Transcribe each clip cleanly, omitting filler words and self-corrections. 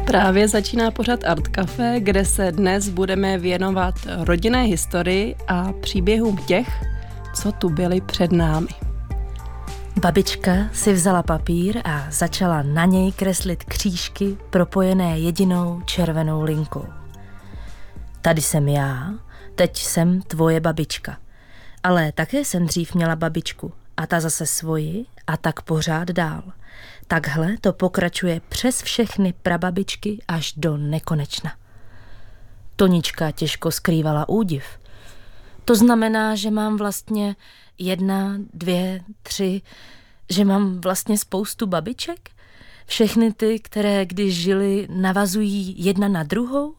Právě začíná pořad Art Café, kde se dnes budeme věnovat rodinné historii a příběhům těch, co tu byli před námi. Babička si vzala papír a začala na něj kreslit křížky propojené jedinou červenou linkou. Tady jsem já, teď jsem tvoje babička. Ale také jsem dřív měla babičku a ta zase svoji a tak pořád dál. Takhle to pokračuje přes všechny prababičky až do nekonečna. Tonička těžko skrývala údiv. To znamená, že mám vlastně 1, 2, 3, že mám vlastně spoustu babiček? Všechny ty, které když žily, navazují jedna na druhou?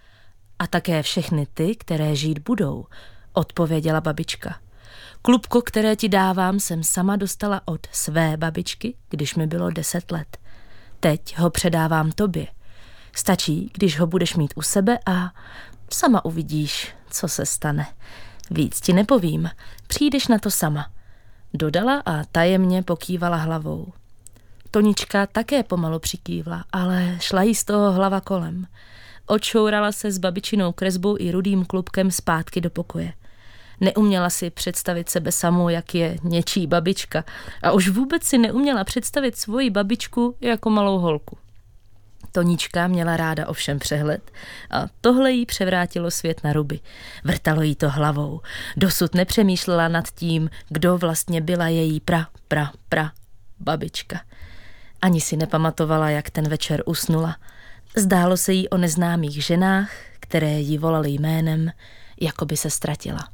A také všechny ty, které žít budou, odpověděla babička. Klubko, které ti dávám, jsem sama dostala od své babičky, když mi bylo 10 let. Teď ho předávám tobě. Stačí, když ho budeš mít u sebe a sama uvidíš, co se stane. Víc ti nepovím, přijdeš na to sama. Dodala a tajemně pokývala hlavou. Tonička také pomalu přikývla, ale šla jí z toho hlava kolem. Odšourala se s babičinou kresbou i rudým klubkem zpátky do pokoje. Neuměla si představit sebe samou, jak je něčí babička, a už vůbec si neuměla představit svoji babičku jako malou holku. Tonička měla ráda ovšem přehled a tohle jí převrátilo svět na ruby. Vrtalo jí to hlavou. Dosud nepřemýšlela nad tím, kdo vlastně byla její pra babička. Ani si nepamatovala, jak ten večer usnula. Zdálo se jí o neznámých ženách, které ji volaly jménem, jako by se ztratila.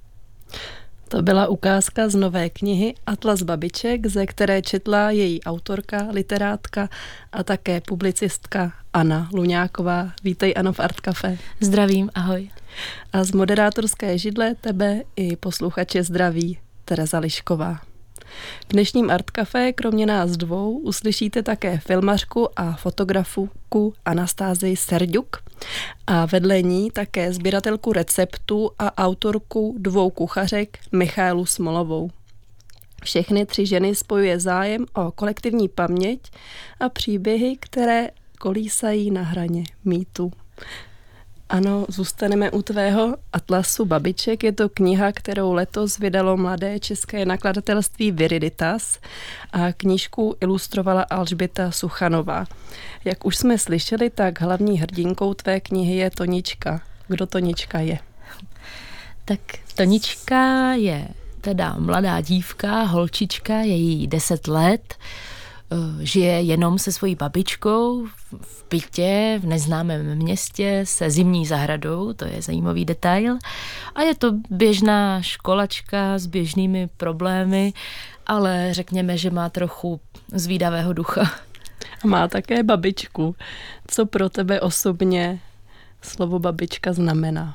To byla ukázka z nové knihy Atlas babiček, ze které četla její autorka, literátka a také publicistka Anna Luňáková. Vítej, Ano, v Art Café. Zdravím, ahoj. A z moderátorské židle tebe i posluchače zdraví Tereza Lišková. V dnešním Art Café kromě nás dvou uslyšíte také filmařku a fotografku Anastázii Serďuk a vedle ní také sběratelku receptů a autorku 2 kuchařek Michaelu Smolovou. Všechny 3 ženy spojuje zájem o kolektivní paměť a příběhy, které kolísají na hraně mýtu. Ano, zůstaneme u tvého Atlasu babiček. Je to kniha, kterou letos vydalo mladé české nakladatelství Viriditas a knížku ilustrovala Alžběta Suchanová. Jak už jsme slyšeli, tak hlavní hrdinkou tvé knihy je Tonička. Kdo Tonička je? Tak Tonička je teda mladá dívka, holčička, je jí 10 let, žije jenom se svojí babičkou v bytě v neznámém městě se zimní zahradou, to je zajímavý detail. A je to běžná školačka s běžnými problémy, ale řekněme, že má trochu zvídavého ducha. A má také babičku. Co pro tebe osobně slovo babička znamená?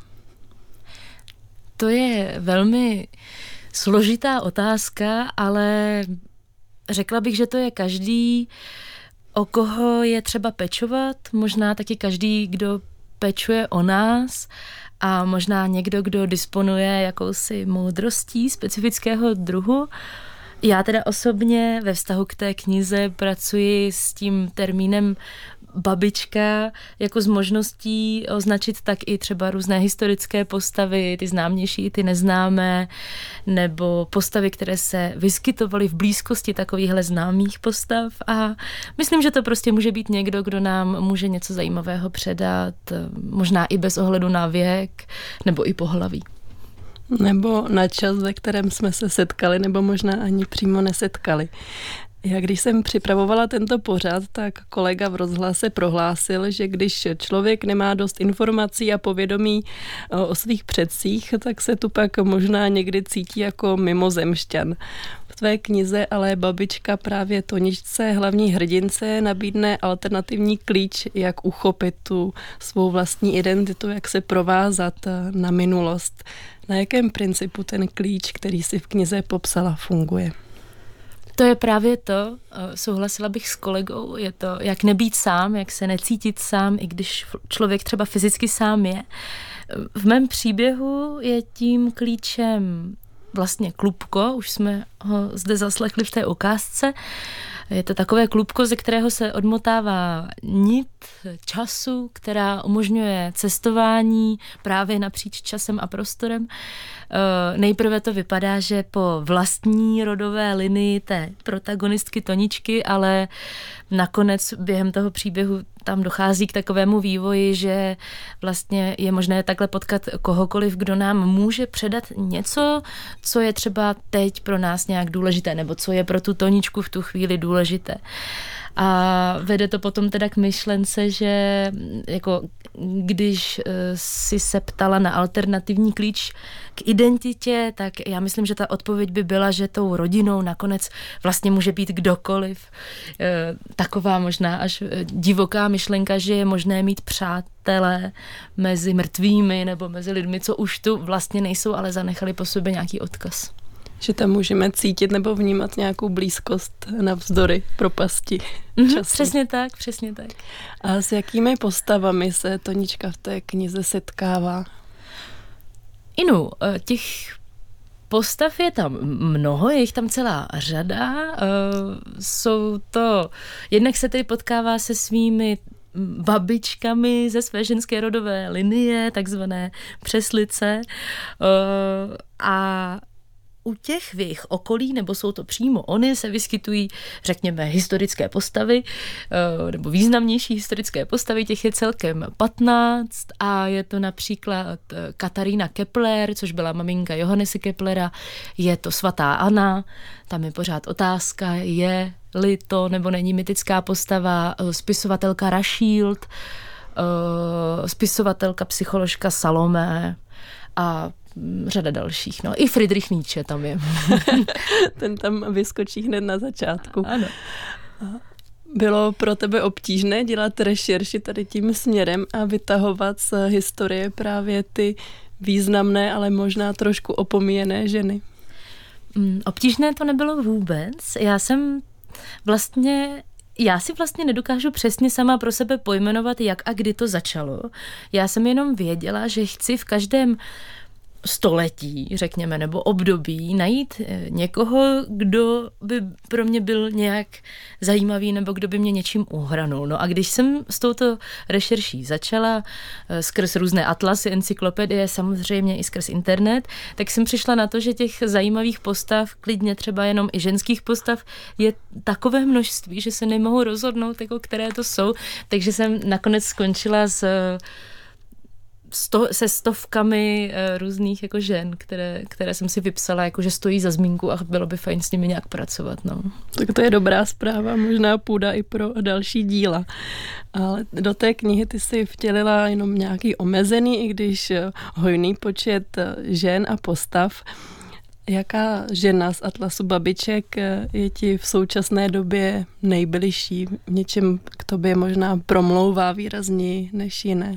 To je velmi složitá otázka, ale řekla bych, že to je každý, o koho je třeba pečovat, možná taky každý, kdo pečuje o nás a možná někdo, kdo disponuje jakousi moudrostí specifického druhu. Já teda osobně ve vztahu k té knize pracuji s tím termínem babička jako s možností označit tak i třeba různé historické postavy, ty známější, ty neznámé, nebo postavy, které se vyskytovaly v blízkosti takovýchhle známých postav a myslím, že to prostě může být někdo, kdo nám může něco zajímavého předat, možná i bez ohledu na věk nebo i pohlaví. Nebo na čas, ve kterém jsme se setkali, nebo možná ani přímo nesetkali. Já když jsem připravovala tento pořad, tak kolega v rozhlase prohlásil, že když člověk nemá dost informací a povědomí o svých předcích, tak se tu pak možná někdy cítí jako mimozemšťan. V tvé knize ale babička právě Toničce, hlavní hrdince, nabídne alternativní klíč, jak uchopit tu svou vlastní identitu, jak se provázat na minulost. Na jakém principu ten klíč, který si v knize popsala, funguje? To je právě to, souhlasila bych s kolegou, je to, jak nebýt sám, jak se necítit sám, i když člověk třeba fyzicky sám je. V mém příběhu je tím klíčem vlastně klubko, už jsme ho zde zaslechli v té ukázce, Je to takové klubko, ze kterého se odmotává nit času, která umožňuje cestování právě napříč časem a prostorem. Nejprve to vypadá, že po vlastní rodové linii té protagonistky Toničky, ale nakonec během toho příběhu tam dochází k takovému vývoji, že vlastně je možné takhle potkat kohokoliv, kdo nám může předat něco, co je třeba teď pro nás nějak důležité, nebo co je pro tu Toničku v tu chvíli důležité. A vede to potom teda k myšlence, že jako když si se ptala na alternativní klíč k identitě, tak já myslím, že ta odpověď by byla, že tou rodinou nakonec vlastně může být kdokoliv. Taková možná až divoká myšlenka, že je možné mít přátelé mezi mrtvými nebo mezi lidmi, co už tu vlastně nejsou, ale zanechali po sobě nějaký odkaz. Že tam můžeme cítit nebo vnímat nějakou blízkost navzdory propasti času. Přesně tak. A s jakými postavami se Tonička v té knize setkává? Inu, těch postav je tam mnoho, je jich tam celá řada. Jsou to, jednak se tedy potkává se svými babičkami ze své ženské rodové linie, takzvané přeslice, a u těch v jejich okolí, nebo jsou to přímo oni, se vyskytují, řekněme, historické postavy, nebo významnější historické postavy, těch je celkem 15 a je to například Katarína Kepler, což byla maminka Johannese Keplera, je to svatá Anna, tam je pořád otázka, je-li to nebo není mytická postava, spisovatelka Raschild, spisovatelka, psycholožka Salome a řada dalších. No, i Friedrich Nietzsche tam je. Ten tam vyskočí hned na začátku. Ano. Bylo pro tebe obtížné dělat rešerši tady tím směrem a vytahovat z historie právě ty významné, ale možná trošku opomíjené ženy? Obtížné to nebylo vůbec. Já si vlastně nedokážu přesně sama pro sebe pojmenovat, jak a kdy to začalo. Já jsem jenom věděla, že chci v každém století, řekněme, nebo období najít někoho, kdo by pro mě byl nějak zajímavý nebo kdo by mě něčím uhranul. No a když jsem s touto rešerší začala skrz různé atlasy, encyklopedie, samozřejmě i skrz internet, tak jsem přišla na to, že těch zajímavých postav, klidně třeba jenom i ženských postav, je takové množství, že se nemohu rozhodnout, jako které to jsou, takže jsem nakonec skončila se stovkami různých jako žen, které jsem si vypsala, jako že stojí za zmínku a bylo by fajn s nimi nějak pracovat. No. Tak to je dobrá zpráva, možná půda i pro další díla. Ale do té knihy ty si vtělila jenom nějaký omezený, i když hojný počet žen a postav. Jaká žena z atlasu babiček je ti v současné době nejbližší? V něčem k tobě možná promlouvá výrazněji než jiné?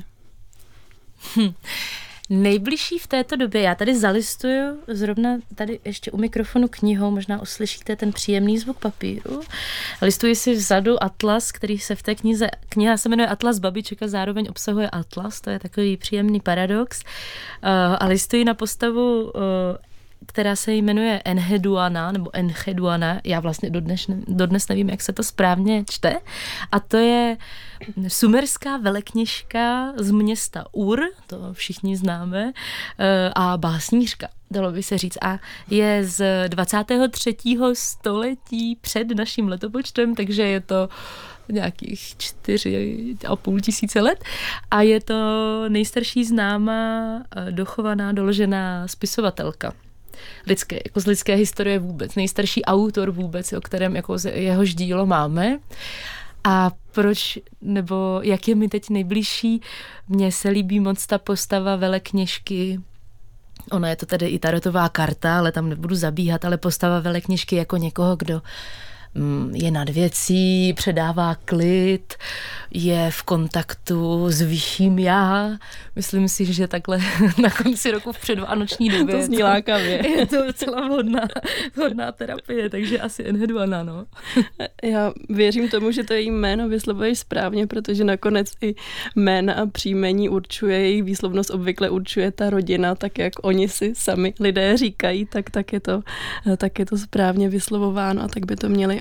Nejbližší v této době, já tady zalistuju zrovna tady ještě u mikrofonu knihou, možná uslyšíte ten příjemný zvuk papíru. Listuji si vzadu atlas, který se v té kniha se jmenuje Atlas babiček a zároveň obsahuje atlas, to je takový příjemný paradox. A listuji na postavu, která se jmenuje Enheduanna, nebo Enheduanna, já vlastně dodnes nevím, jak se to správně čte, a to je sumerská velekněžka z města Ur, to všichni známe, a básnířka, dalo by se říct, a je z 23. století před naším letopočtem, takže je to nějakých 4,5 tisíce let a je to nejstarší známá, dochovaná, doložená spisovatelka. Z lidské historie vůbec, nejstarší autor vůbec, o kterém jako jehož dílo máme. A proč, nebo jak je mi teď nejbližší, mně se líbí moc ta postava velekněžky. Ona je to tedy i tarotová karta, ale tam nebudu zabíhat, ale postava velekněžky jako někoho, kdo je nad věcí, předává klid, je v kontaktu s vyšším já. Myslím si, že takhle na konci roku v předvánoční době to zní lákavě. Je to docela vhodná terapie, takže asi Enheduanna, no. Já věřím tomu, že to její jméno vyslovuješ správně, protože nakonec i jména a příjmení určuje, jejich výslovnost obvykle určuje ta rodina, tak jak oni si sami lidé říkají, tak je to správně vyslovováno a tak by to měli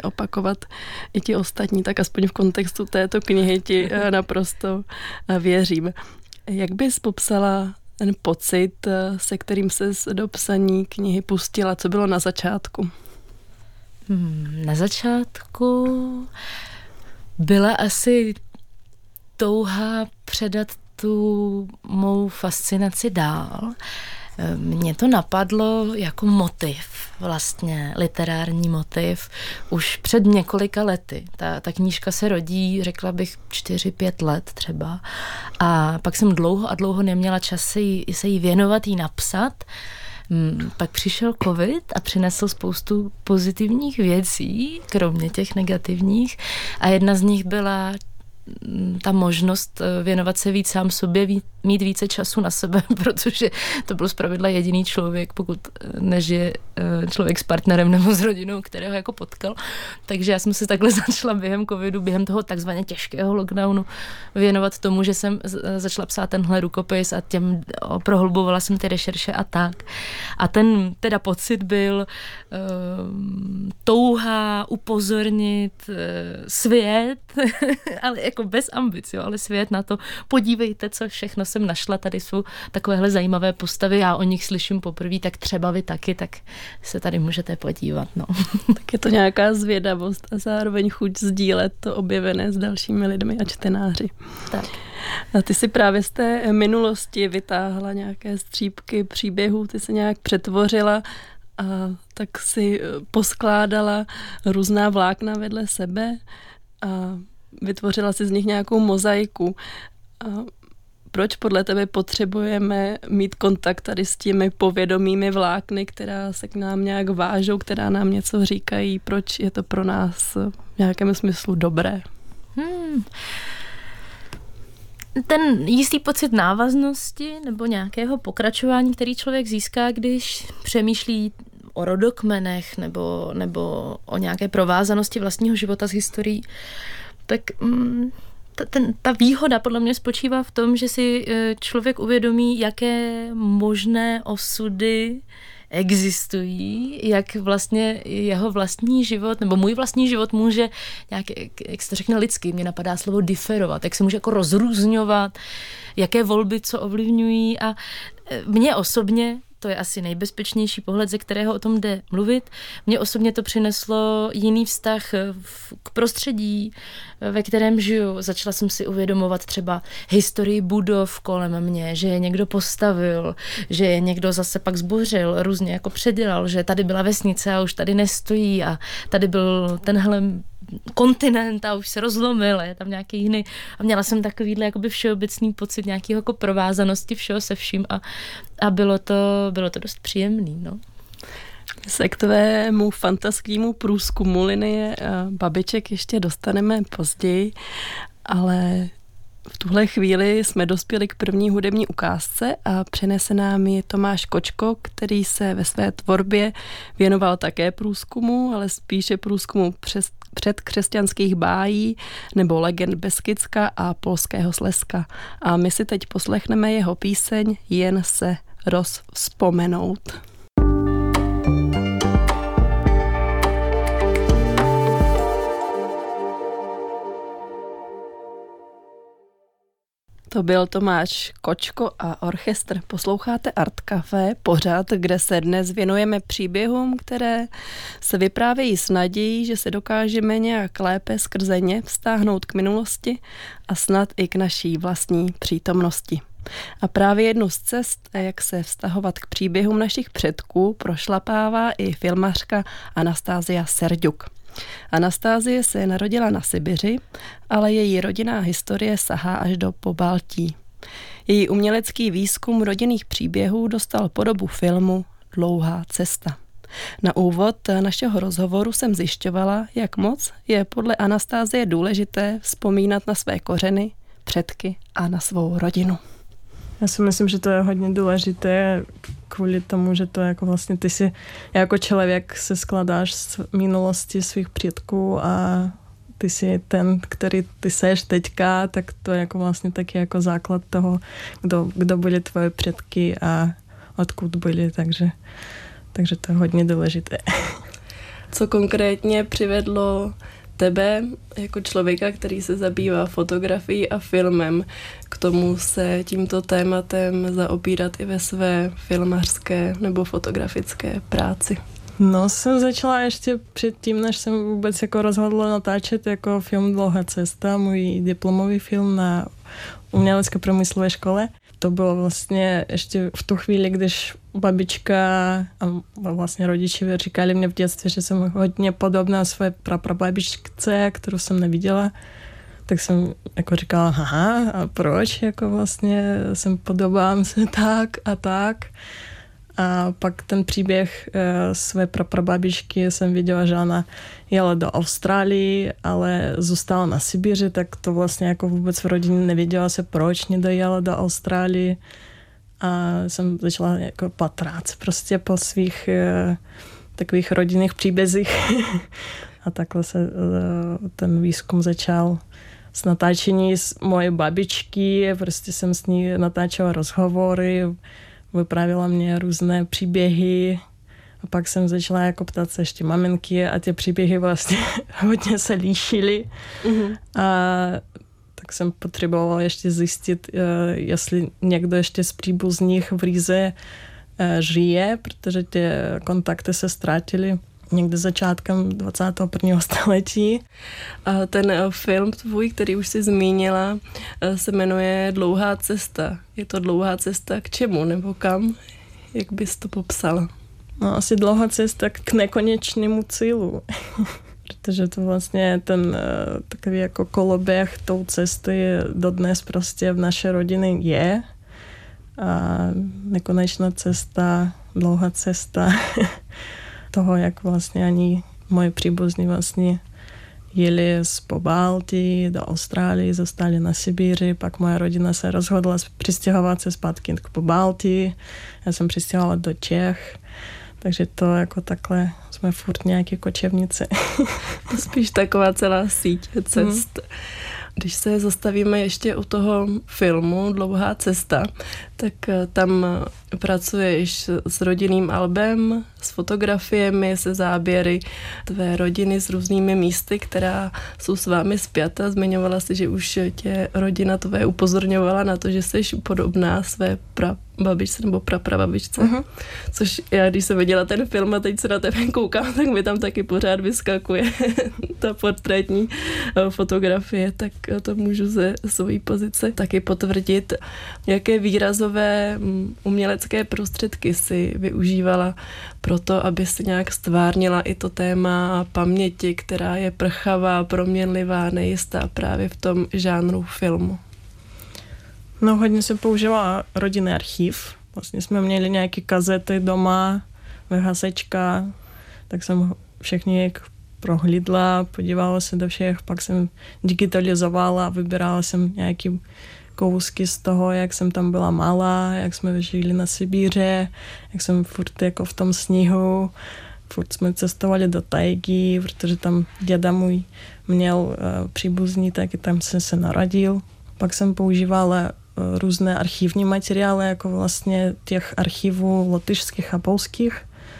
opakovat i ti ostatní, tak aspoň v kontextu této knihy ti naprosto věřím. Jak bys popsala ten pocit, se kterým ses do psaní knihy pustila? Co bylo na začátku? Na začátku byla asi touha předat tu mou fascinaci dál. Mně to napadlo jako motiv, vlastně literární motiv, už před několika lety. Ta knížka se rodí, řekla bych, 4-5 let třeba. A pak jsem dlouho neměla čas se jí věnovat, jí napsat. Pak přišel covid a přinesl spoustu pozitivních věcí, kromě těch negativních. A jedna z nich byla ta možnost věnovat se víc sám sobě, mít více času na sebe, protože to byl zpravidla jediný člověk, pokud nežije člověk s partnerem nebo s rodinou, kterého jako potkal. Takže já jsem se takhle začala během covidu, během toho takzvaně těžkého lockdownu věnovat tomu, že jsem začala psát tenhle rukopis a prohlubovala jsem ty rešerše a tak. A ten teda pocit byl touha upozornit svět, ale jako bez ambic, jo, ale svět na to, podívejte, co všechno jsem našla, tady jsou takovéhle zajímavé postavy, já o nich slyším poprvé, tak třeba vy taky, tak se tady můžete podívat, no. Tak je to nějaká zvědavost a zároveň chuť sdílet to objevené s dalšími lidmi a čtenáři. Tak. A ty si právě z té minulosti vytáhla nějaké střípky příběhů, ty se nějak přetvořila a tak si poskládala různá vlákna vedle sebe a vytvořila si z nich nějakou mozaiku. A proč podle tebe potřebujeme mít kontakt tady s těmi povědomými vlákny, která se k nám nějak vážou, která nám něco říkají? Proč je to pro nás v nějakém smyslu dobré? Ten jistý pocit návaznosti nebo nějakého pokračování, který člověk získá, když přemýšlí o rodokmenech nebo o nějaké provázanosti vlastního života s historií, tak ta výhoda podle mě spočívá v tom, že si člověk uvědomí, jaké možné osudy existují, jak vlastně jeho vlastní život, nebo můj vlastní život může nějak, jak se to řekne lidsky, mě napadá slovo diferovat, jak se může jako rozrůzňovat, jaké volby co ovlivňují a mně osobně, to je asi nejbezpečnější pohled, ze kterého o tom jde mluvit. Mně osobně to přineslo jiný vztah k prostředí, ve kterém žiju. Začala jsem si uvědomovat třeba historii budov kolem mě, že je někdo postavil, že je někdo zase pak zbořil, různě jako předělal, že tady byla vesnice a už tady nestojí a tady byl tenhle kontinent a už se rozlomil, je tam nějaký jiný. A měla jsem takovýhle jakoby všeobecný pocit nějakého jako provázanosti všeho se vším a bylo to dost příjemný, no. Se k tvému fantastickému průzkumu linie babiček ještě dostaneme později, ale v tuhle chvíli jsme dospěli k první hudební ukázce a přinese nám ji Tomáš Kočko, který se ve své tvorbě věnoval také průzkumu, ale spíše průzkumu předkřesťanských bájí nebo legend Beskydska a polského Slezska. A my si teď poslechneme jeho píseň Jen se rozvzpomenout. To byl Tomáš Kočko a orchestr. Posloucháte Art Café, pořad, kde se dnes věnujeme příběhům, které se vyprávějí s nadějí, že se dokážeme nějak lépe skrze ně vztáhnout k minulosti a snad i k naší vlastní přítomnosti. A právě jednu z cest, jak se vztahovat k příběhům našich předků, prošlapává i filmařka Anastázia Serďuk. Anastázie se narodila na Sibiři, ale její rodinná historie sahá až do Pobaltí. Její umělecký výzkum rodinných příběhů dostal podobu filmu Dlouhá cesta. Na úvod našeho rozhovoru jsem zjišťovala, jak moc je podle Anastázie důležité vzpomínat na své kořeny, předky a na svou rodinu. Já si myslím, že to je hodně důležité kvůli tomu, že to jako vlastně ty si jako člověk se skladáš z minulosti svých předků a ty si ten, který ty seš teďka, tak to je jako vlastně taky jako základ toho, kdo byli tvoje předky a odkud byli, takže to je hodně důležité. Co konkrétně přivedlo tebe jako člověka, který se zabývá fotografií a filmem, k tomu se tímto tématem zaobírat i ve své filmařské nebo fotografické práci? No, jsem začala ještě předtím, než jsem vůbec jako rozhodla natáčet jako film Dlouhá cesta, můj diplomový film na umělecké průmyslové škole. To bylo vlastně ještě v tu chvíli, když babička a vlastně rodiče říkali mě v dětství, že jsem hodně podobná své praprababičce, kterou jsem neviděla. Tak jsem jako říkala, aha, a proč? Jako vlastně jsem podobám se tak a tak. A pak ten příběh své praprababičky jsem viděla, že ona jela do Austrálie, ale zůstala na Sibiři, tak to vlastně jako vůbec v rodině nevěděla se, proč nedojela do Austrálie. A jsem začala jako patrat prostě po svých takových rodinných příbězích. A takhle se ten výzkum začal s natáčení z moje babičky, prostě jsem s ní natáčela rozhovory, vyprávěla mě různé příběhy a pak jsem začala jako ptát se ještě maminky a ty příběhy vlastně hodně se líšily. A tak jsem potřebovala ještě zjistit, jestli někdo ještě z příbuzných v Rize žije, protože ty kontakty se ztratily někde začátkem 21. století. A ten film tvůj, který už jsi zmínila, se jmenuje Dlouhá cesta. Je to dlouhá cesta k čemu nebo kam? Jak bys to popsala? No, asi dlouhá cesta k nekonečnému cílu. Protože to vlastně ten takový jako koloběh tou cesty dodnes prostě v naší rodině je. A nekonečná cesta, dlouhá cesta toho, jak vlastně ani moje příbuzní vlastně jeli z Pobaltí do Austrálie, zostali na Sibiři, pak moja rodina se rozhodla přistěhovat se zpátky k Pobaltí, já jsem přistěhovala do Čech, takže to jako takhle jsme furt nějaký kočevnici. Spíš taková celá síť cest. Když se zastavíme ještě u toho filmu Dlouhá cesta, tak tam pracuješ s rodinným albem, s fotografiemi, se záběry tvé rodiny s různými místy, která jsou s vámi spjata. Zmiňovala si, že už tě rodina tvé upozorňovala na to, že jsi podobná své babičce nebo praprababičce. Což já, když jsem viděla ten film a teď se na tebe koukám, tak mi tam taky pořád vyskakuje ta portrétní fotografie, tak to můžu ze své pozice taky potvrdit. Jaké výrazové umělecké prostředky si využívala pro to, aby si nějak stvárnila i to téma paměti, která je prchavá, proměnlivá, nejistá právě v tom žánru filmu? No, hodně se používá rodinný archiv. Vlastně jsme měli nějaké kazety doma, VHSčka, tak jsem všechny prohlídla, podívala se do všech, pak jsem digitalizovala, vybírala jsem nějaký kousky z toho, jak jsem tam byla malá, jak jsme žili na Sibíře, jak jsem furt jako v tom sněhu, furt jsme cestovali do tajgy, protože tam děda můj měl příbuzný, taky tam jsem se narodil. Pak jsem používala různé archivní materiály, jako vlastně těch archivů lotyšských a polských.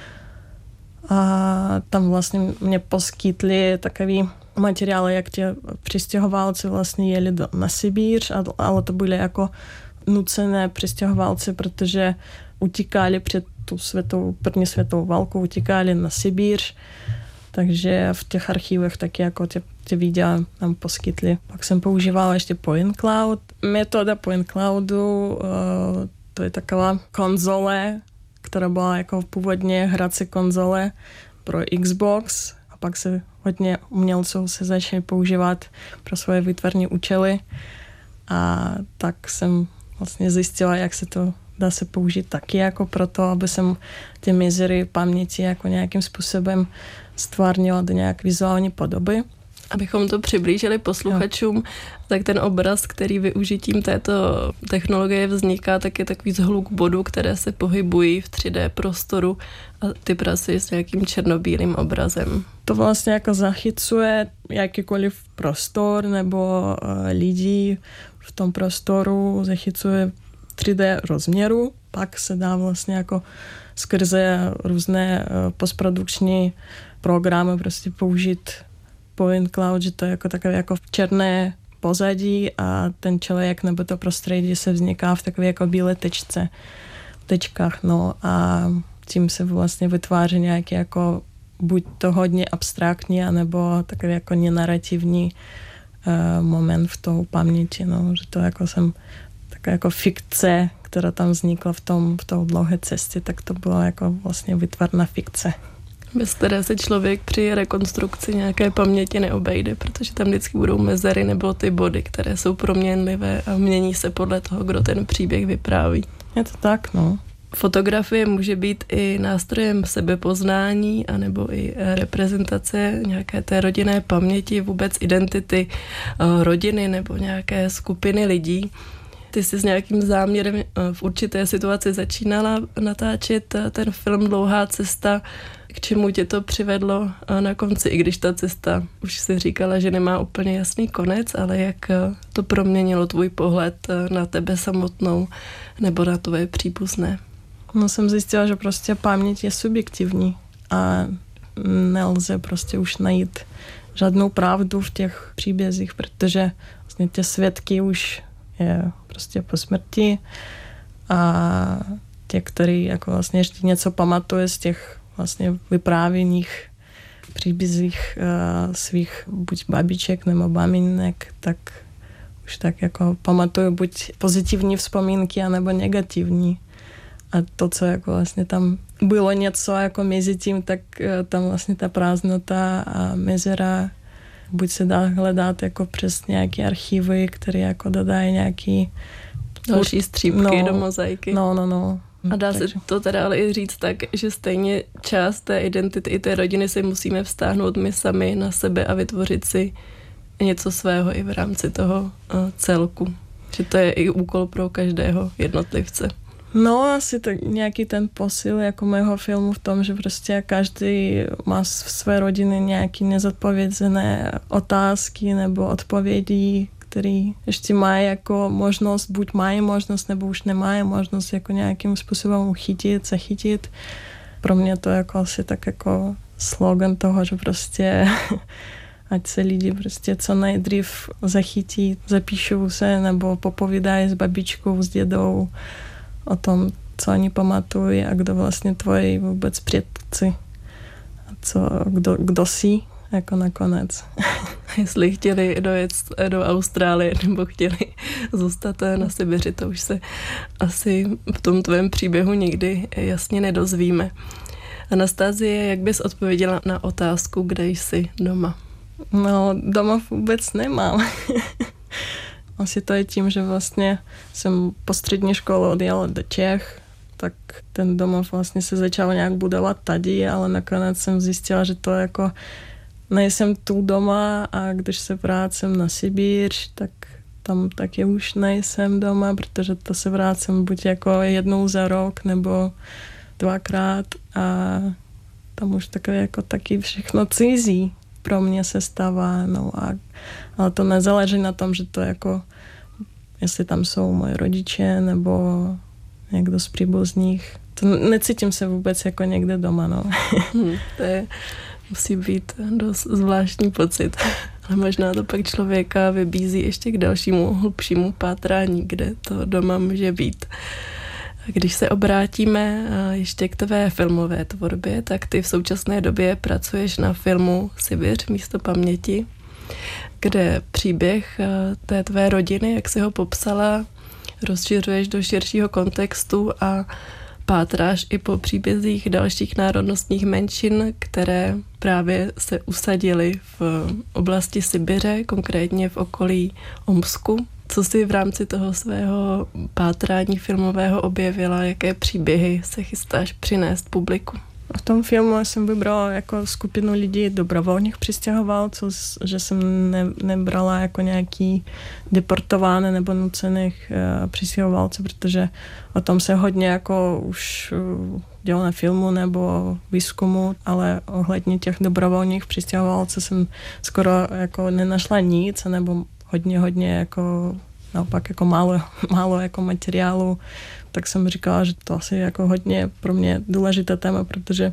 A tam vlastně mě poskytli takový materiály, jak ti přistěhovalci vlastně jeli na Sibíř, ale to byly jako nucené přistěhovalci, protože utíkali před tu první světovou válku, utíkali na Sibíř. Takže v těch archivech taky jako ty videa nám poskytli. Pak jsem používala ještě Point Cloud. Metoda Point Cloudu, to je taková konzole, která byla jako původně hrací konzole pro Xbox a pak se hodně umělců se začali používat pro svoje výtvarné účely a tak jsem vlastně zjistila, jak se to dá se použít taky jako proto, aby jsem ty mezery paměti jako nějakým způsobem stvárnila do nějak vizuální podoby. Abychom to přiblížili posluchačům, tak ten obraz, který využitím této technologie vzniká, tak je takový zhluk bodů, které se pohybují v 3D prostoru a ty pracuješ s nějakým černobílým obrazem. To vlastně jako zachycuje jakýkoliv prostor nebo lidi v tom prostoru, zachycuje 3D rozměru, pak se dá vlastně jako skrze různé postprodukční programy prostě použít point cloud, že to je jako takové jako černé pozadí a ten člověk nebo to prostředí se vzniká v takové jako bílé tečkách, no a tím se vlastně vytváří nějaký jako buď to hodně abstraktní, anebo takový jako nenarativní moment v tou paměti, no, že to jako jsem taková jako fikce, která tam vznikla v tou dlouhé cestě, tak to byla jako vlastně vytvarná fikce. Bez které se člověk při rekonstrukci nějaké paměti neobejde, protože tam vždycky budou mezery nebo ty body, které jsou proměnlivé a mění se podle toho, kdo ten příběh vypráví. Je to tak, no. Fotografie může být i nástrojem sebepoznání anebo i reprezentace nějaké té rodinné paměti, vůbec identity rodiny nebo nějaké skupiny lidí. Ty jsi s nějakým záměrem v určité situaci začínala natáčet ten film Dlouhá cesta. K čemu tě to přivedlo na konci, i když ta cesta, už si říkala, že nemá úplně jasný konec, ale jak to proměnilo tvůj pohled na tebe samotnou nebo na tvoje příbuzné? No jsem zjistila, že prostě paměť je subjektivní a nelze prostě už najít žádnou pravdu v těch příbězích, protože vlastně ty svědky už je prostě po smrti a ti, kteří jako vlastně ještě něco pamatuje z těch vlastně vyprávěných příbězích svých buď babiček nebo maminek, tak už tak jako pamatuju buď pozitivní vzpomínky, anebo negativní. A to, co jako vlastně tam bylo něco jako mezi tím, tak tam vlastně ta prázdnota a mezera buď se dá hledat jako přes nějaké archivy, které jako dodají nějaký další střípky do mozaiky. No. A dá se to teda ale i říct tak, že stejně část té identity i té rodiny si musíme vztáhnout my sami na sebe a vytvořit si něco svého i v rámci toho celku. Že to je i úkol pro každého jednotlivce. No, asi tak nějaký ten posil jako mého filmu v tom, že prostě každý má v své rodině nějaké nezodpovězené otázky nebo odpovědi, které ještě mají jako možnost, buď mají možnost, nebo už nemají možnost jako nějakým způsobem uchytit, zachytit. Pro mě to jako asi tak jako slogan toho, že prostě ať se lidi prostě co nejdřív zachytí, zapíšou se nebo popovídají s babičkou, s dědou o tom, co oni pamatují a kdo vlastně tvoji vůbec předci a kdo jsi jako nakonec. Jestli chtěli dojet do Austrálie nebo chtěli zůstat na Sibiři, to už se asi v tom tvém příběhu nikdy jasně nedozvíme. Anastazie, jak bys odpověděla na otázku, kde jsi doma? No, doma vůbec nemám. Asi to je tím, že vlastně jsem po střední škole odjela do Čech, tak ten domov vlastně se začal nějak budovat tady, ale nakonec jsem zjistila, že to jako nejsem tu doma a když se vrátím na Sibíř, tak tam taky už nejsem doma, protože to se vrátím buď jako jednou za rok nebo dvakrát a tam už takové jako taky všechno cizí pro mě se stává, no ale to nezáleží na tom, že to jako, jestli tam jsou moji rodiče nebo někdo z příbuzných. To necítím se vůbec jako někde doma, no. To musí být dost zvláštní pocit. Ale možná to pak člověka vybízí ještě k dalšímu hlubšímu pátrání, kde to doma může být. Když se obrátíme ještě k tvé filmové tvorbě, tak ty v současné době pracuješ na filmu Sibiř místo paměti, kde příběh té tvé rodiny, jak jsi ho popsala, rozšiřuješ do širšího kontextu a pátráš i po příbězích dalších národnostních menšin, které právě se usadily v oblasti Sibiře, konkrétně v okolí Omsku. Co jsi v rámci toho svého pátrání filmového objevila, jaké příběhy se chystáš přinést publiku? V tom filmu jsem vybrala jako skupinu lidí dobrovolných přistěhovalců, že jsem nebrala jako nějaký deportované nebo nucených přistěhovalců, protože o tom se hodně jako už dělo na filmu nebo výzkumu, ale ohledně těch dobrovolných přistěhovalců jsem skoro jako nenašla nic, nebo hodně jako naopak jako málo jako materiálu, tak jsem říkala, že to asi jako hodně pro mě důležité téma, protože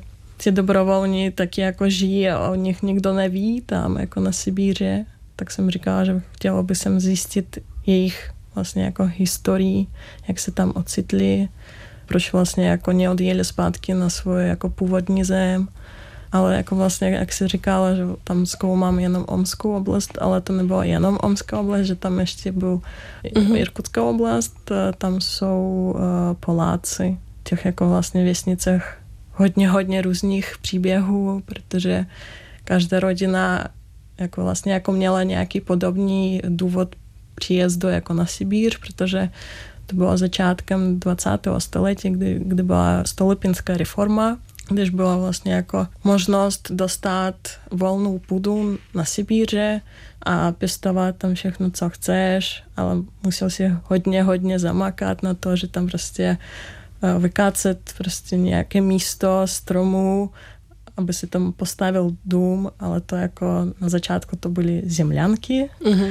ty dobrovolní taky jako žijí a o nich nikdo neví tam jako na Sibíře, tak jsem říkala, že chtěla by jsem zjistit jejich vlastně jako historii, jak se tam ocitli, proč vlastně jako neodjeli zpátky na svoje jako původní zem. Ale jako vlastně, jak si říkala, že tam zkoumám jenom Omskou oblast, ale to nebyla jenom Omská oblast, že tam ještě byl Irkutská oblast, tam jsou Poláci, v těch jako vlastně vesnicech hodně různých příběhů, protože každá rodina jako vlastně jako měla nějaký podobný důvod příjezdu jako na Sibíř, protože to bylo začátkem 20. století, kdy byla Stolypinská reforma, když byla vlastně jako možnost dostat volnou půdu na Sibíře a pěstovat tam všechno, co chceš, ale musel si hodně zamakat na to, že tam prostě vykácet prostě nějaké místo stromů, aby si tam postavil dům, ale to jako na začátku to byly zemlянky.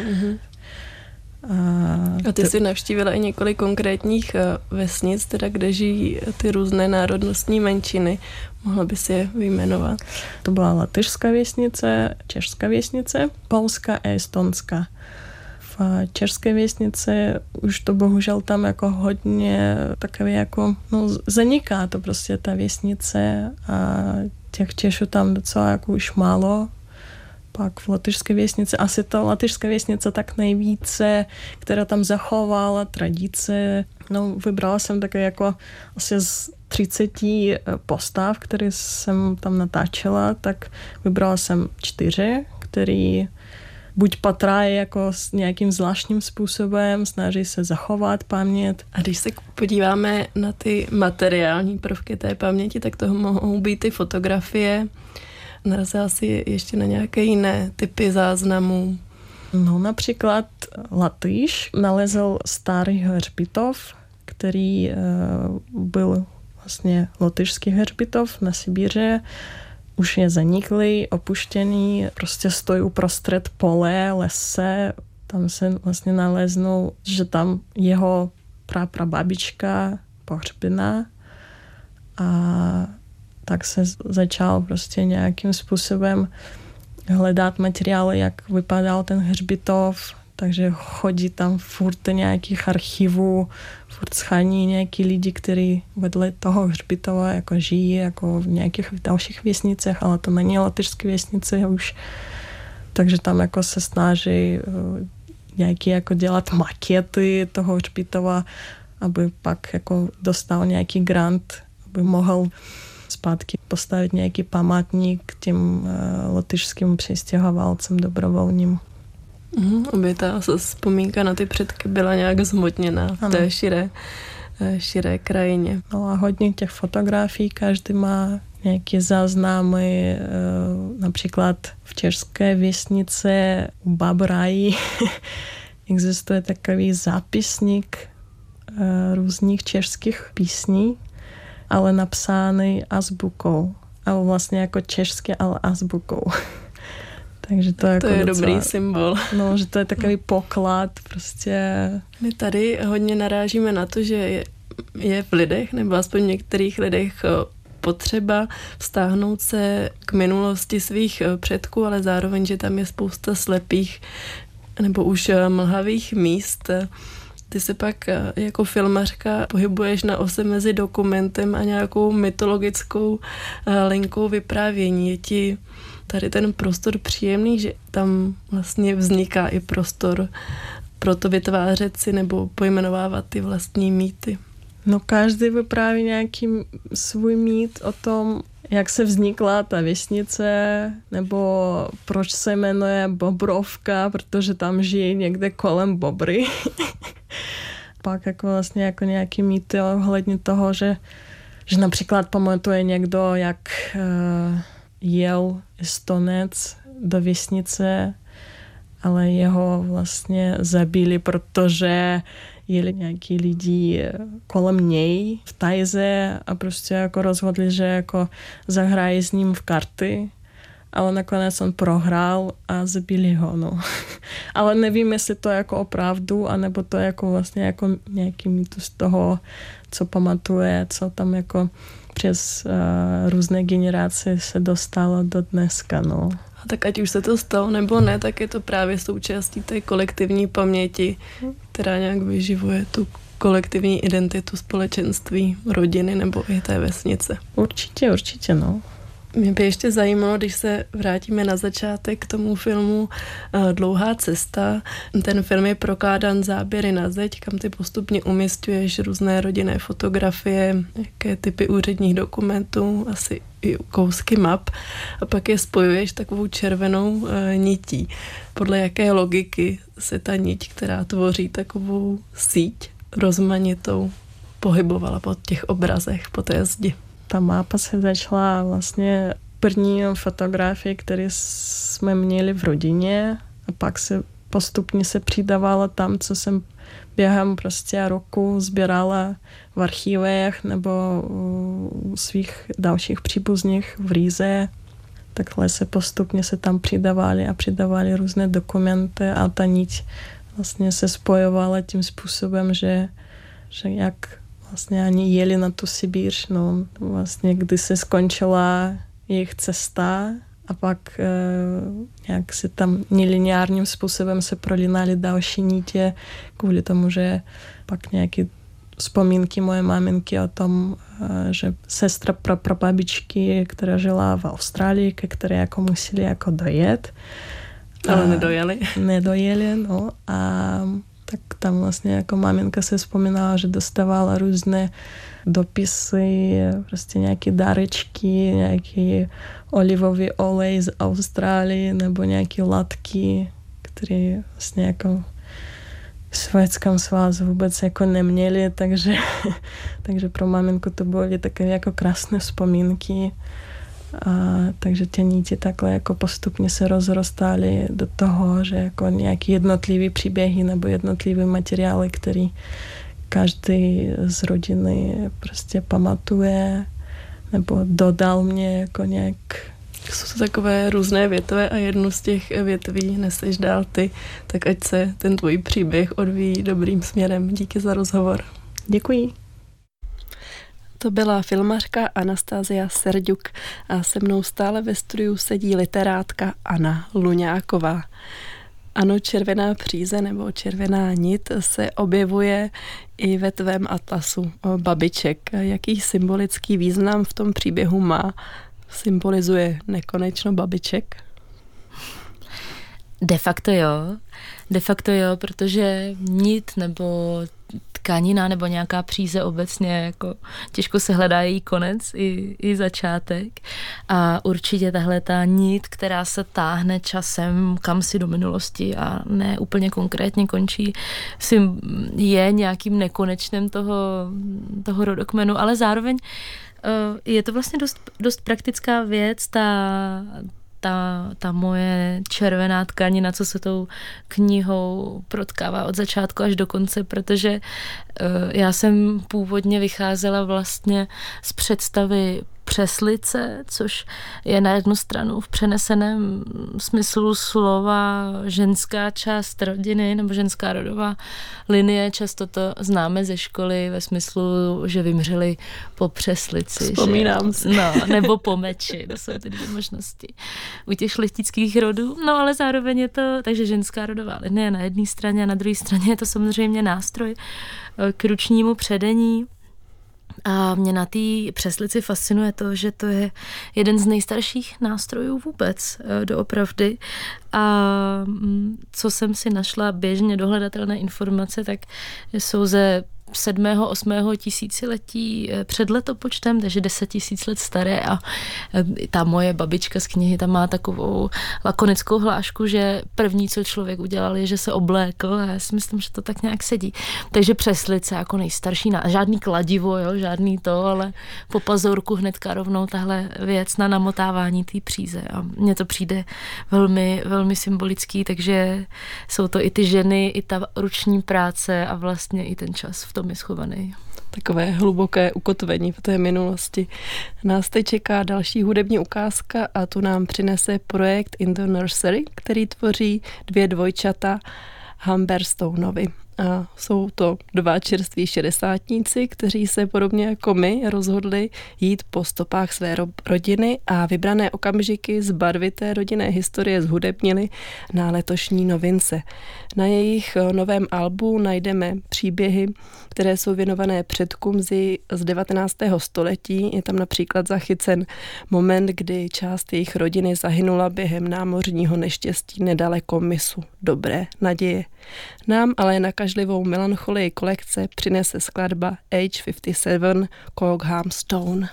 A ty jsi navštívila i několik konkrétních vesnic, teda kde žijí ty různé národnostní menšiny. Mohla by si je vyjmenovat? To byla latyšská vesnice, česká vesnice, polská a estonská. V české vesnici už to bohužel tam jako hodně takové jako, zaniká to prostě ta vesnice a těch Češů tam docela jako už málo. Pak v latyšské vesnici, asi ta latyšská vesnice tak nejvíce, která tam zachovala tradice. Vybrala jsem také jako asi z 30 postav, které jsem tam natáčela, tak vybrala jsem 4, které buď patrají jako s nějakým zvláštním způsobem, snaží se zachovat paměť. A když se podíváme na ty materiální prvky té paměti, tak to mohou být ty fotografie. Narazila si ještě na nějaké jiné typy záznamů? Například Latýš nalezl starý hřbitov, který byl vlastně lotyšský hřbitov na Sibíře. Už je zaniklý, opuštěný, prostě stojí uprostřed pole, lese. Tam se vlastně naleznul, že tam jeho prababička pohřbena a tak se začal prostě nějakým způsobem hledat materiály, jak vypadal ten hřbitov, takže chodí tam furt nějakých archivů, furt schání nějaký lidi, kteří vedle toho hřbitova jako žijí jako v nějakých dalších vesnicích, ale to není latyšské vesnice už, takže tam jako se snaží nějaký jako dělat makety toho hřbitova, aby pak jako dostal nějaký grant, aby mohl zpátky postavit nějaký památník těm lotyšským přistěhovalcem dobrovolním. Aby ta vzpomínka na ty předky byla nějak zhmotněná v té širé krajině. A hodně těch fotografií, každý má nějaké záznamy, například v české vesnice u Babrají existuje takový zápisník různých českých písní, ale napsány azbukou. Ale vlastně jako české, ale azbukou. Takže to je docela, dobrý symbol. Že to je takový poklad prostě. My tady hodně narážíme na to, že je v lidech, nebo aspoň v některých lidech potřeba vztáhnout se k minulosti svých předků, ale zároveň, že tam je spousta slepých nebo už mlhavých míst. Ty se pak jako filmařka pohybuješ na ose mezi dokumentem a nějakou mytologickou linkou vyprávění. Je ti tady ten prostor příjemný, že tam vlastně vzniká i prostor pro to vytvářet si nebo pojmenovávat ty vlastní mýty? Každý vypráví nějaký svůj mýt o tom, jak se vznikla ta vesnice, nebo proč se jmenuje Bobrovka, protože tam žijí někde kolem bobry. Pak jako vlastně jako nějaký mýty ohledně toho, že například pamatuje někdo, jak jel Estonec do vesnice, ale jeho vlastně zabili, protože jeli nějaký lidi kolem něj v tajze a prostě jako rozhodli, že jako zahrají s ním v karty ale nakonec on prohrál a zabili ho, no. Ale nevím, jestli to je jako opravdu, anebo to je jako vlastně jako nějaký mýtus toho, co pamatuje, co tam jako přes různé generace se dostalo do dneska, no. A tak ať už se to stalo nebo ne, tak je to právě součástí té kolektivní paměti, která nějak vyživuje tu kolektivní identitu společenství, rodiny nebo i té vesnice. Určitě, no. Mě by ještě zajímalo, když se vrátíme na začátek k tomu filmu Dlouhá cesta. Ten film je prokládán záběry na zeď, kam ty postupně umisťuješ různé rodinné fotografie, jaké typy úředních dokumentů, asi i kousky map a pak je spojuješ takovou červenou nití. Podle jaké logiky se ta niť, která tvoří takovou síť rozmanitou, pohybovala po těch obrazech, po té zdi? Ta mapa se začala vlastně první fotografie, které jsme měli v rodině a pak se postupně se přidávala tam, co jsem během prostě roku sbírala v archivech nebo u svých dalších příbuzných v Rize. Takhle se postupně se tam přidávaly různé dokumenty a ta niť vlastně se spojovala tím způsobem, že jak vlastně ani jeli na tu Sibíř, no vlastně kdy se skončila jejich cesta a pak nějak se tam nelineárním způsobem se prolínaly další nitě kvůli tomu, že pak nějaké vzpomínky moje maminky o tom, že sestra prababičky, která žila v Austrálii, ke které jako museli jako dojet. Ale nedojeli. Nedojeli, no a tak tam vlastně jako maminka se vzpomínala, že dostávala různé dopisy, prostě nějaké dárečky, nějaký olivový olej z Austrálie nebo nějaké látky, které vlastně jako v Sovětském svazu vůbec jako neměli, takže pro maminku to byly takové jako krásné vzpomínky. A takže ty niti takhle jako postupně se rozrostaly do toho, že jako nějaké jednotlivé příběhy nebo jednotlivé materiály, který každý z rodiny prostě pamatuje nebo dodal mě jako nějak. Jsou to takové různé větve a jednu z těch větví neseš dál ty, tak ať se ten tvůj příběh odvíjí dobrým směrem. Díky za rozhovor. Děkuji. To byla filmařka Anastázia Serďuk a se mnou stále ve studiu sedí literátka Anna Luňáková. Ano, červená příze nebo červená nit se objevuje i ve tvém atlasu babiček. Jaký symbolický význam v tom příběhu má? Symbolizuje nekonečno babiček? De facto jo, protože nit nebo tkanina nebo nějaká příze obecně, jako těžko se hledá její konec i začátek. A určitě tahle ta nit, která se táhne časem kam si do minulosti a ne úplně konkrétně končí, je nějakým nekonečným toho rodokmenu, ale zároveň je to vlastně dost praktická věc, ta moje červená tkanina, co se tou knihou protkává od začátku až do konce, protože já jsem původně vycházela vlastně z představy přeslice, což je na jednu stranu v přeneseném smyslu slova ženská část rodiny nebo ženská rodová linie. Často to známe ze školy ve smyslu, že vymřeli po přeslici. Vzpomínám si. No, nebo po meči, to jsou ty dvě možnosti u těch šlechtických rodů. No ale zároveň je to, takže ženská rodová linie na jedné straně a na druhé straně je to samozřejmě nástroj k ručnímu předení. A mě na té přeslici fascinuje to, že to je jeden z nejstarších nástrojů vůbec doopravdy. A co jsem si našla běžně dohledatelné informace, tak jsou ze 7. 8. tisíciletí před letopočtem, takže 10 000 let staré a ta moje babička z knihy tam má takovou lakonickou hlášku, že první, co člověk udělal, je, že se oblékl a já si myslím, že to tak nějak sedí. Takže přeslice jako nejstarší, žádný kladivo, jo, žádný to, ale po pazurku hnedka rovnou tahle věc na namotávání té příze a mně to přijde velmi, velmi symbolický, takže jsou to i ty ženy, i ta ruční práce a vlastně i ten čas v tom je schovaný. Takové hluboké ukotvení v té minulosti. Nás teď čeká další hudební ukázka a tu nám přinese projekt In the Nursery, který tvoří 2 dvojčata Humberstoneovi. A jsou to 2 čerství šedesátníci, kteří se podobně jako my rozhodli jít po stopách své rodiny a vybrané okamžiky z barvité rodinné historie zhudebnili na letošní novince. Na jejich novém albu najdeme příběhy, které jsou věnované předkům z 19. století. Je tam například zachycen moment, kdy část jejich rodiny zahynula během námořního neštěstí nedaleko mysu Dobré naděje. Nám ale nakažlivou melancholii kolekce přinese skladba Age 57 Cookham Stone.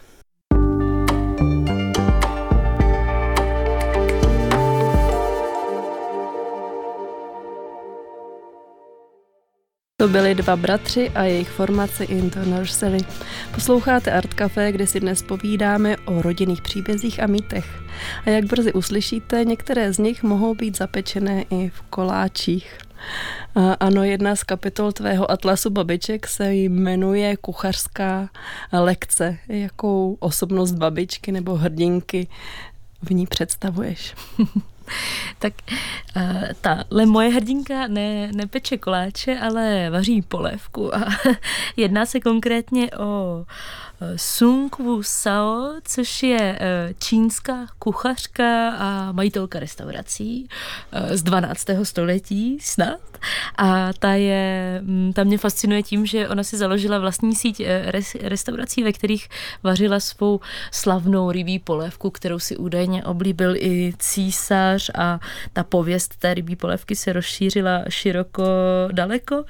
To byli 2 bratři a jejich formace In the Nursery. Posloucháte Art Café, kde si dnes povídáme o rodinných příbězích a mýtech. A jak brzy uslyšíte, některé z nich mohou být zapečené i v koláčích. Ano, jedna z kapitol tvého atlasu babiček se jmenuje Kuchařská lekce. Jakou osobnost babičky nebo hrdinky v ní představuješ? Tak tahle moje hrdinka nepeče koláče, ale vaří polévku a jedná se konkrétně o Sung Woo Sao, což je čínská kuchařka a majitelka restaurací z 12. století snad. A ta mě fascinuje tím, že ona si založila vlastní síť restaurací, ve kterých vařila svou slavnou rybí polévku, kterou si údajně oblíbil i císař, a ta pověst té rybí polévky se rozšířila široko daleko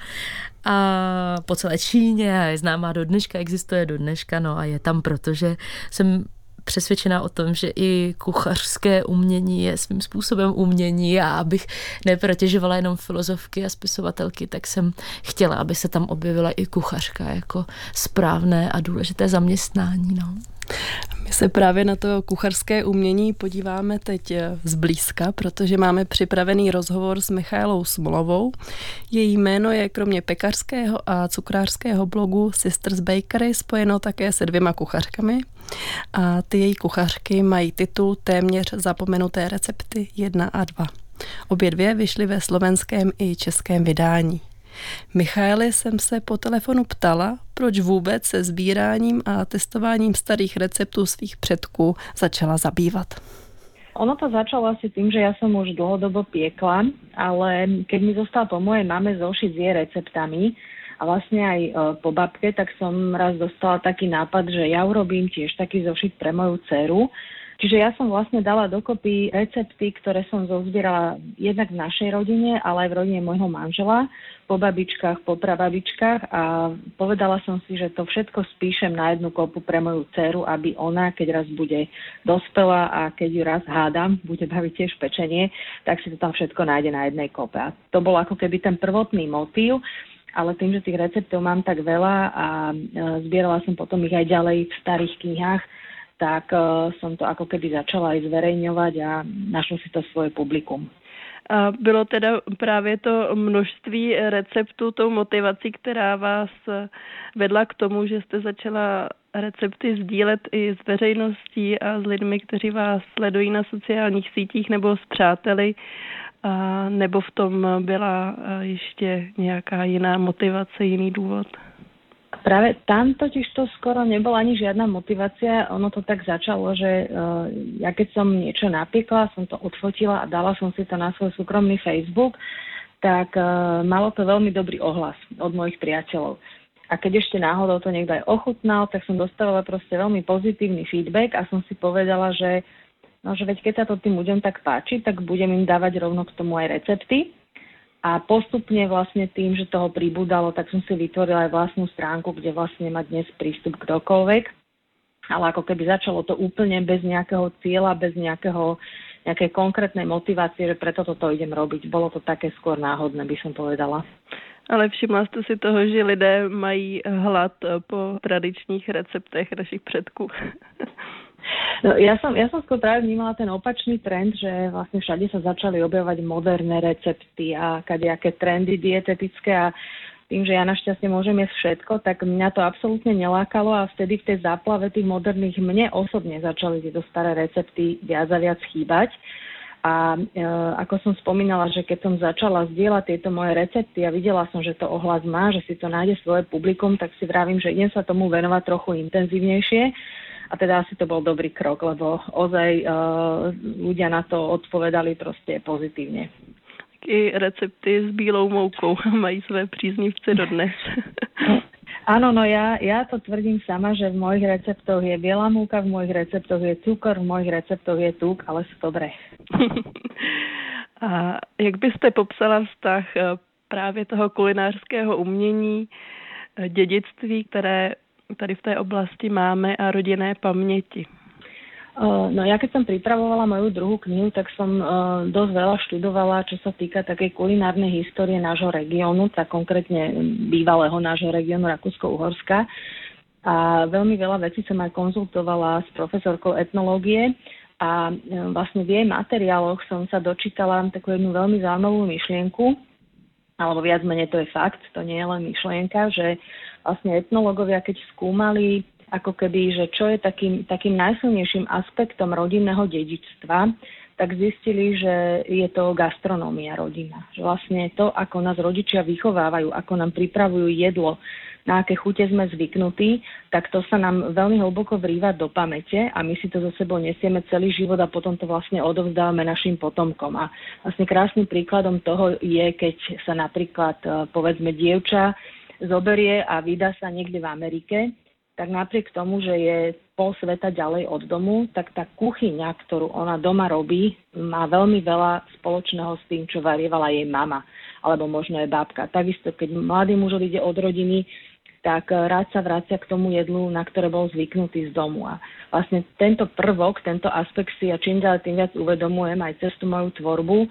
a po celé Číně a je známá do dneška, existuje do dneška, no a je tam, protože jsem přesvědčená o tom, že i kuchařské umění je svým způsobem umění, a abych neprotěžovala jenom filozofky a spisovatelky, tak jsem chtěla, aby se tam objevila i kuchařka jako správné a důležité zaměstnání. No. My se právě na to kuchařské umění podíváme teď zblízka, protože máme připravený rozhovor s Michaelou Smolovou. Její jméno je kromě pekařského a cukrářského blogu Sisters Bakery spojeno také se 2 kuchařkami. A ty její kuchařky mají titul Téměř zapomenuté recepty 1 a 2. Obě 2 vyšly ve slovenském i českém vydání. Michaeli jsem se po telefonu ptala, proč vůbec se sbíráním a testováním starých receptů svých předků začala zabývat. Ono to začalo asi tým, že ja som už dlhodobo piekla, ale keď mi zostal po mojej mame zošit s jej receptami a vlastne aj po babke, tak som raz dostala taký nápad, že ja urobím tiež taký zošit pre moju dceru. Čiže ja som vlastne dala dokopy recepty, ktoré som zozbierala jednak v našej rodine, ale aj v rodine môjho manžela, po babičkách, po prababičkách, a povedala som si, že to všetko spíšem na jednu kopu pre moju dceru, aby ona, keď raz bude dospelá a keď ju raz hádam, bude baviť tiež pečenie, tak si to tam všetko nájde na jednej kope. A to bol ako keby ten prvotný motív, ale tým, že tých receptov mám tak veľa a zbierala som potom ich aj ďalej v starých knihách, tak som to ako keby začala aj zverejňovať a našlo si to svoje publikum. A bylo teda právě to množství receptů tou motivací, která vás vedla k tomu, že jste začala recepty sdílet i s veřejností a s lidmi, kteří vás sledují na sociálních sítích nebo s přáteli, a nebo v tom byla ještě nějaká jiná motivace, jiný důvod? Práve tam totiž to skoro nebola ani žiadna motivácia. Ono to tak začalo, že ja keď som niečo napiekla, som to odfotila a dala som si to na svoj súkromný Facebook, tak malo to veľmi dobrý ohlas od mojich priateľov. A keď ešte náhodou to niekto aj ochutnal, tak som dostávala proste veľmi pozitívny feedback a som si povedala, že veď keď sa to tým ľuďom tak páči, tak budem im dávať rovno k tomu aj recepty. A postupne vlastne tým, že toho pribúdalo, tak som si vytvorila aj vlastnú stránku, kde vlastne má dnes prístup kdokoľvek. Ale ako keby začalo to úplne bez nejakého cieľa, bez nejakej konkrétnej motivácie, že preto toto idem robiť. Bolo to také skôr náhodné, by som povedala. Ale všimla jste si toho, že lidé mají hlad po tradičních receptech našich předků? No, ja som skôr práve vnímala ten opačný trend, že vlastne všade sa začali objavovať moderné recepty a kadejaké trendy dietetické a tým, že ja našťastie môžem jesť všetko, tak mňa to absolútne nelákalo a vtedy v tej záplave tých moderných mne osobne začali tieto staré recepty viac a viac chýbať. A ako som spomínala, že keď som začala zdieľať tieto moje recepty a videla som, že to ohlas má, že si to nájde svoje publikum, tak si vravím, že idem sa tomu venovať trochu intenzívnejšie. A teda asi to bol dobrý krok, lebo ozaj ľudia na to odpovedali proste pozitívne. I recepty s bílou moukou mají své příznivce dodnes. Áno, no ja to tvrdím sama, že v mojich receptoch je biela múka, v mojich receptoch je cukor, v mojich receptoch je tuk, ale sú dobré. A jak byste popsala vztah právě toho kulinářského umění, dědictví, které tady v té oblasti máme a rodinné paměti? No ja keď som pripravovala moju druhú knihu, tak som dosť veľa študovala, čo sa týka takej kulinárnej histórie nášho regiónu, tak konkrétne bývalého nášho regiónu Rakúsko-Uhorska. A veľmi veľa vecí som aj konzultovala s profesorkou etnológie a vlastne v jej materiáloch som sa dočítala takú jednu veľmi zaujímavú myšlienku, alebo viac menej to je fakt, to nie je len myšlienka, že vlastne etnológovia, keď skúmali ako keby, že čo je takým najsilnejším aspektom rodinného dedičstva, tak zistili, že je to gastronómia rodina. Že vlastne to, ako nás rodičia vychovávajú, ako nám pripravujú jedlo, na aké chute sme zvyknutí, tak to sa nám veľmi hlboko vrýva do pamäte a my si to so sebou nesieme celý život a potom to vlastne odovzdávame našim potomkom. A vlastne krásnym príkladom toho je, keď sa napríklad, povedzme, dievča zoberie a vydá sa niekde v Amerike, tak napriek tomu, že je pol sveta ďalej od domu, tak tá kuchyňa, ktorú ona doma robí, má veľmi veľa spoločného s tým, čo varievala jej mama, alebo možno aj babka. Takisto, keď mladý muž ide od rodiny, tak rád sa vracia k tomu jedlu, na ktoré bol zvyknutý z domu. A vlastne tento prvok, tento aspekt si ja čím ďalej tým viac uvedomujem aj cez tú moju tvorbu,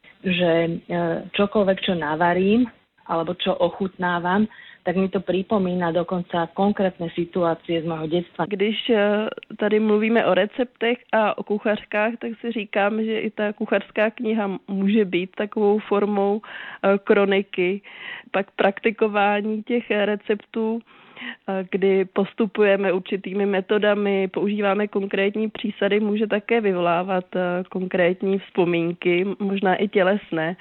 že čokoľvek, čo navarím, alebo čo ochutnávam, tak mi to připomíná dokonce konkrétní situace z mého dětstva. Když tady mluvíme o receptech a o kuchařkách, tak si říkám, že i ta kuchařská kniha může být takovou formou kroniky, pak praktikování těch receptů, kdy postupujeme určitými metodami, používáme konkrétní přísady, může také vyvolávat konkrétní vzpomínky, možná i tělesné.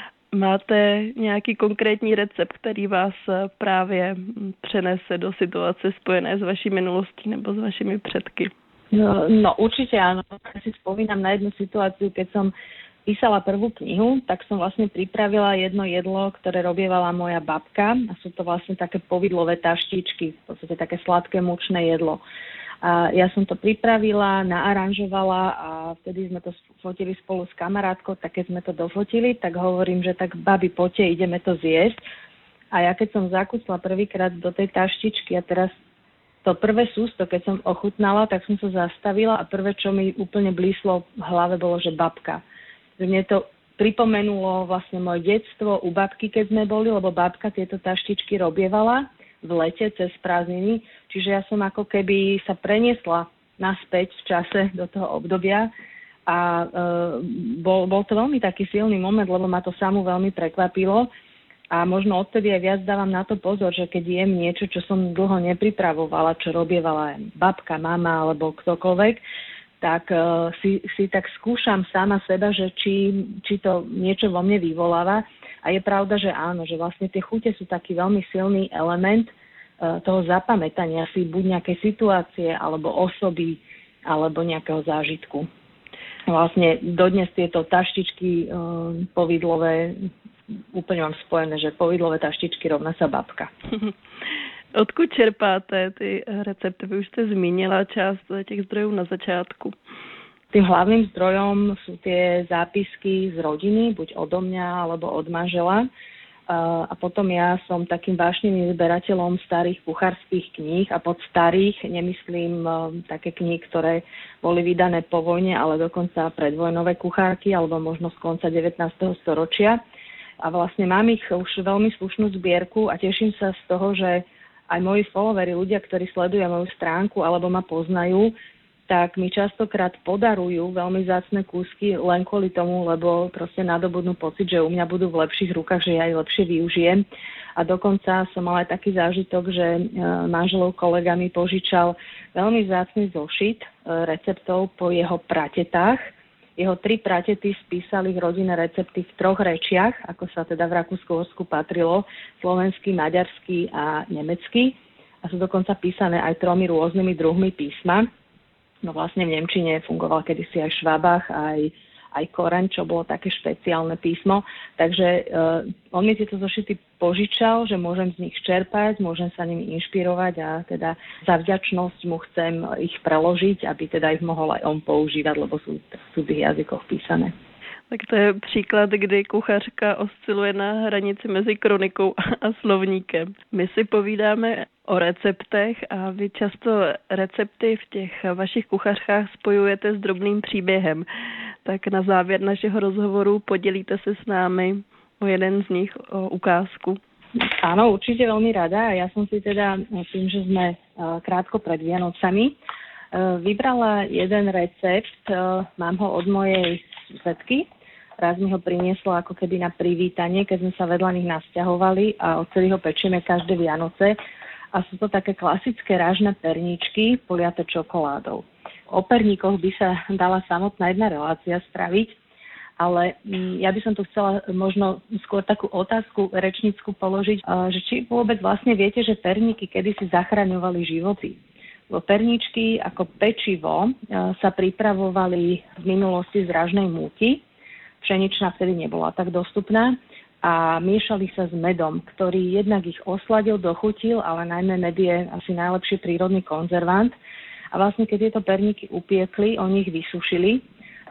Máte nějaký konkrétní recept, který vás právě přenese do situace spojené s vaší minulostí nebo s vašimi předky? No určite áno. Ja si spomínam na jednu situáciu, keď som písala prvú knihu, tak som vlastne pripravila jedno jedlo, ktoré robievala moja babka. A sú to vlastne také povidlové taštičky, v podstate také sladké mučné jedlo. A ja som to pripravila, naaranžovala a vtedy sme to fotili spolu s kamarátkou, tak keď sme to dofotili, tak hovorím, že tak babi, poďte, ideme to zjesť. A ja keď som zakúsla prvýkrát do tej taštičky a teraz to prvé sústo, keď som ochutnala, tak som sa zastavila a prvé, čo mi úplne blíslo v hlave, bolo, že babka. Že mne to pripomenulo vlastne moje detstvo u babky, keď sme boli, lebo babka tieto taštičky robievala v lete cez prázdniny, čiže ja som ako keby sa preniesla naspäť v čase do toho obdobia a bol to veľmi taký silný moment, lebo ma to samú veľmi prekvapilo a možno odtedy aj viac dávam na to pozor, že keď jem niečo, čo som dlho nepripravovala, čo robievala babka, mama alebo ktokoľvek, tak si tak skúšam sama seba, že či to niečo vo mne vyvoláva. A je pravda, že áno, že vlastne tie chute sú taký veľmi silný element toho zapamätania si buď nejakej situácie, alebo osoby, alebo nejakého zážitku. Vlastne dodnes tieto taštičky povidlové, úplne mám spojené, že povidlové taštičky rovná sa babka. Odkud čerpáte ty recepty? Vy už jste zmínila část těch zdrojů na začátku. Tým hlavným zdrojom sú tie zápisky z rodiny, buď odo mňa, alebo od manžela. A potom ja som takým vášnivým zberateľom starých kuchárskych kníh a pod starých nemyslím také knihy, ktoré boli vydané po vojne, ale dokonca predvojnové kuchárky, alebo možno z konca 19. storočia. A vlastne mám ich už veľmi slušnú zbierku a teším sa z toho, že aj moji followeri, ľudia, ktorí sledujú moju stránku alebo ma poznajú, tak mi častokrát podarujú veľmi vzácne kúsky len kvôli tomu, lebo proste nadobudnú pocit, že u mňa budú v lepších rukách, že ja ich lepšie využijem. A dokonca som mala aj taký zážitok, že manželov kolega mi požičal veľmi vzácny zošit receptov po jeho pratetách. Jeho 3 pratety spísali rodinné recepty v 3 rečiach, ako sa teda v Rakúsku-Uhorsku patrilo, slovenský, maďarský a nemecký. A sú dokonca písané aj 3 rôznymi druhmi písma. No vlastne v nemčine fungoval kedysi aj Švabach, aj Koreň, čo bolo také špeciálne písmo. Takže on mi tieto zošity požičal, že môžem z nich čerpať, môžem sa nimi inšpirovať a teda za vďačnosť mu chcem ich preložiť, aby teda ich mohol aj on používať, lebo sú v cudzích jazykoch písané. Tak to je příklad, kdy kuchařka osciluje na hranici mezi kronikou a slovníkem. My si povídáme o receptech a vy často recepty v těch vašich kuchařkách spojujete s drobným příběhem. Tak na závěr našeho rozhovoru podělíte se s námi o jeden z nich, o ukázku. Áno, určite veľmi rada. Ja som si teda, tým, že sme krátko pred Vianocami, vybrala jeden recept, mám ho od mojej susedky. Raz mi ho priniesla ako keby na privítanie, keď sme sa vedľa nich nasťahovali a odtedy ho pečieme každé Vianoce. A sú to také klasické rážne perníčky poliate čokoládou. O perníkoch by sa dala samotná jedna relácia spraviť, ale ja by som tu chcela možno skôr takú otázku rečnícku položiť, že či vôbec vlastne viete, že perníky kedysi zachraňovali životy. Perníčky ako pečivo sa pripravovali v minulosti z ražnej múky. Pšeničná vtedy nebola tak dostupná a miešali sa s medom, ktorý jednak ich osladil, dochutil, ale najmä med je asi najlepší prírodný konzervant. A vlastne keď tieto perníky upiekli, oni ich vysušili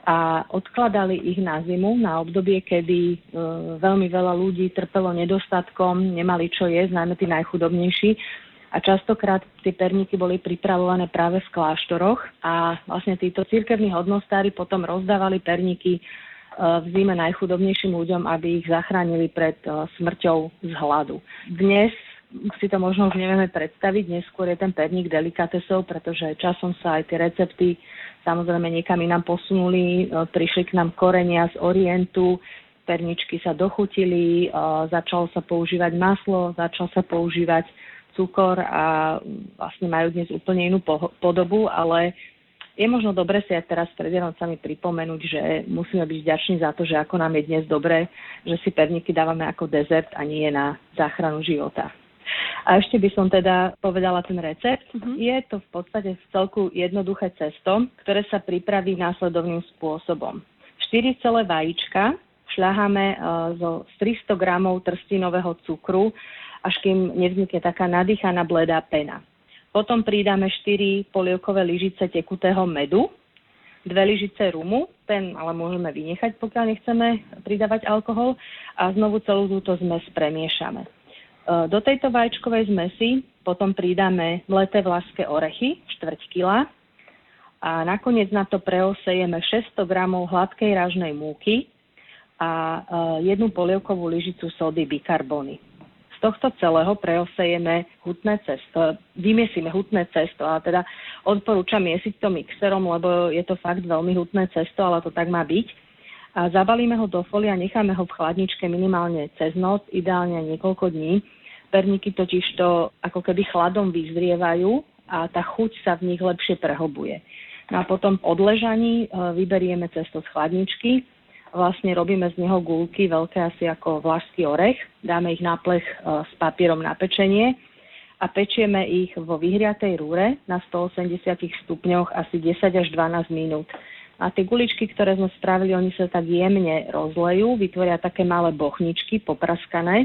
a odkladali ich na zimu, na obdobie, kedy veľmi veľa ľudí trpelo nedostatkom, nemali čo jesť, najmä tí najchudobnejší. A častokrát tie perníky boli pripravované práve v kláštoroch a vlastne títo cirkevní hodnostári potom rozdávali perníky v zime najchudobnejším ľuďom, aby ich zachránili pred smrťou z hladu. Dnes si to možno už nevieme predstaviť, neskôr je ten perník delikatesou, pretože časom sa aj tie recepty samozrejme niekam inám posunuli, prišli k nám korenia z Orientu, perničky sa dochutili, začalo sa používať maslo, začal sa používať cukor a vlastne majú dnes úplne inú podobu, ale je možno dobre si aj teraz pred Vianocami pripomenúť, že musíme byť vďační za to, že ako nám je dnes dobre, že si perníky dávame ako dezert a nie na záchranu života. A ešte by som teda povedala ten recept. Je to v podstate v celku jednoduché cesto, ktoré sa pripraví následovným spôsobom. 4 celé vajíčka šľaháme z 300 gramov trstinového cukru, až kým nevznikne taká nadýchaná bledá pena. Potom pridáme 4 polievkové lyžice tekutého medu, 2 lyžice rumu, ten ale môžeme vynechať, pokiaľ nechceme pridávať alkohol, a znovu celú túto zmes premiešame. Do tejto vajíčkovej zmesi potom pridáme mleté vlašské orechy, 1/4 kila, a nakoniec na to preosejeme 600 gramov hladkej ražnej múky a 1 polievkovú lyžicu sódy bikarbony. Z tohto celého preosejeme hutné cesto, vymiesime hutné cesto, a teda odporúčam miesiť to mixerom, lebo je to fakt veľmi hutné cesto, ale to tak má byť. A zabalíme ho do folie a necháme ho v chladničke minimálne cez noc, ideálne niekoľko dní. Perníky totiž to ako keby chladom vyzrievajú a tá chuť sa v nich lepšie prehlbuje. No a potom po odležaní vyberieme cesto z chladničky. Vlastne robíme z neho guľky veľké asi ako vlašský orech, dáme ich na plech s papierom na pečenie a pečieme ich vo vyhriatej rúre na 180 stupňoch asi 10 až 12 minút. A tie guličky, ktoré sme spravili, oni sa tak jemne rozlejú, vytvoria také malé bochničky popraskané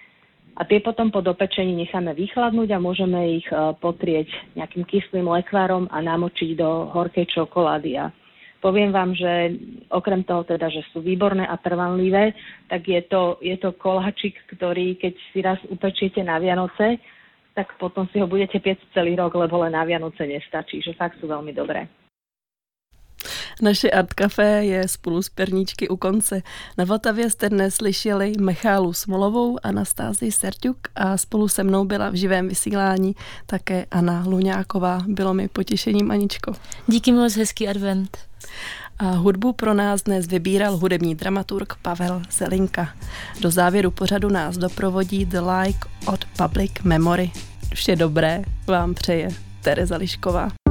a tie potom po dopečení necháme vychladnúť a môžeme ich potrieť nejakým kyslým lekvárom a namočiť do horkej čokolády. A poviem vám, že okrem toho teda, že sú výborné a trvanlivé, tak je to koláčik, ktorý keď si raz upečiete na Vianoce, tak potom si ho budete piecť celý rok, lebo len na Vianoce nestačí, že fakt sú veľmi dobré. Naše Art Café je spolu s perníčky u konce. Na Vltavě jste dnes slyšeli Michálu Smolovou, Anastázii Serťuk a spolu se mnou byla v živém vysílání také Anna Luňáková. Bylo mi potěšením, Aničko. Díky moc, hezký advent. A hudbu pro nás dnes vybíral hudební dramaturg Pavel Zelinka. Do závěru pořadu nás doprovodí The Like od Public Memory. Vše dobré vám přeje Tereza Lišková.